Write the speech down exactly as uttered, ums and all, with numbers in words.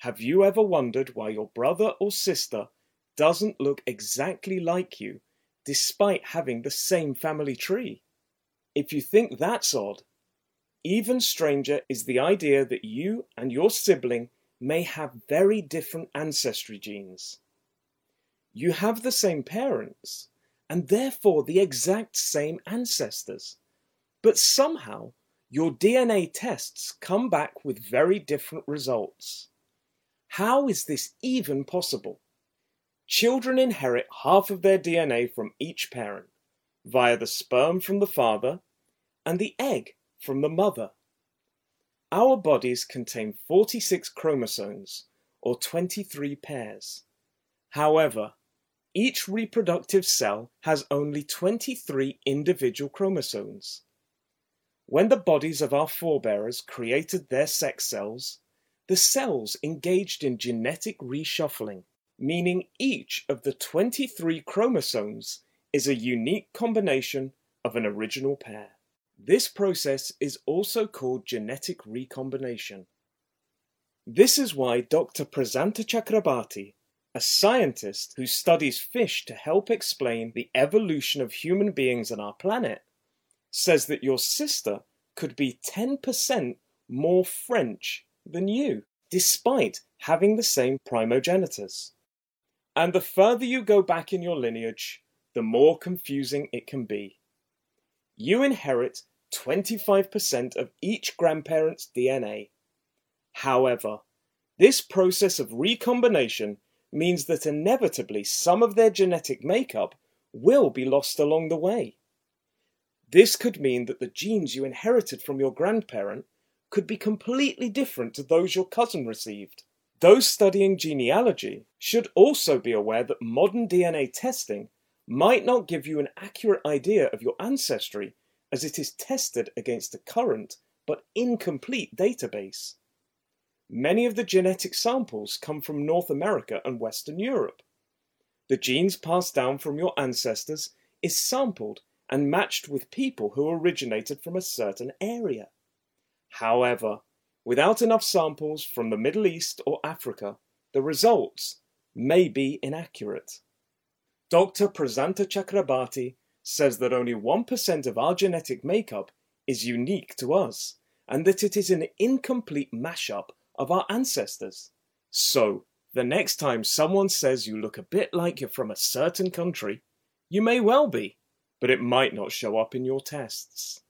Have you ever wondered why your brother or sister doesn't look exactly like you, despite having the same family tree? If you think that's odd, even stranger is the idea that you and your sibling may have very different ancestry genes. You have the same parents, and therefore the exact same ancestors, but somehow your D N A tests come back with very different results. How is this even possible? Children inherit half of their D N A from each parent, via the sperm from the father and the egg from the mother. Our bodies contain forty-six chromosomes, or twenty-three pairs. However, each reproductive cell has only twenty-three individual chromosomes. When the bodies of our forebears created their sex cells, the cells engaged in genetic reshuffling, meaning each of the twenty-three chromosomes is a unique combination of an original pair. This process is also called genetic recombination. This is why Doctor Prasanta Chakrabarty, a scientist who studies fish to help explain the evolution of human beings on our planet, says that your sister could be ten percent more French than you, despite having the same primogenitors. And the further you go back in your lineage, the more confusing it can be. You inherit twenty-five percent of each grandparent's D N A. However, this process of recombination means that inevitably some of their genetic makeup will be lost along the way. This could mean that the genes you inherited from your grandparent could be completely different to those your cousin received. Those studying genealogy should also be aware that modern D N A testing might not give you an accurate idea of your ancestry, as it is tested against a current but incomplete database. Many of the genetic samples come from North America and Western Europe. The genes passed down from your ancestors is sampled and matched with people who originated from a certain area. However, without enough samples from the Middle East or Africa, the results may be inaccurate. Doctor Prasanta Chakrabarty says that only one percent of our genetic makeup is unique to us, and that it is an incomplete mashup of our ancestors. So, the next time someone says you look a bit like you're from a certain country, you may well be, but it might not show up in your tests.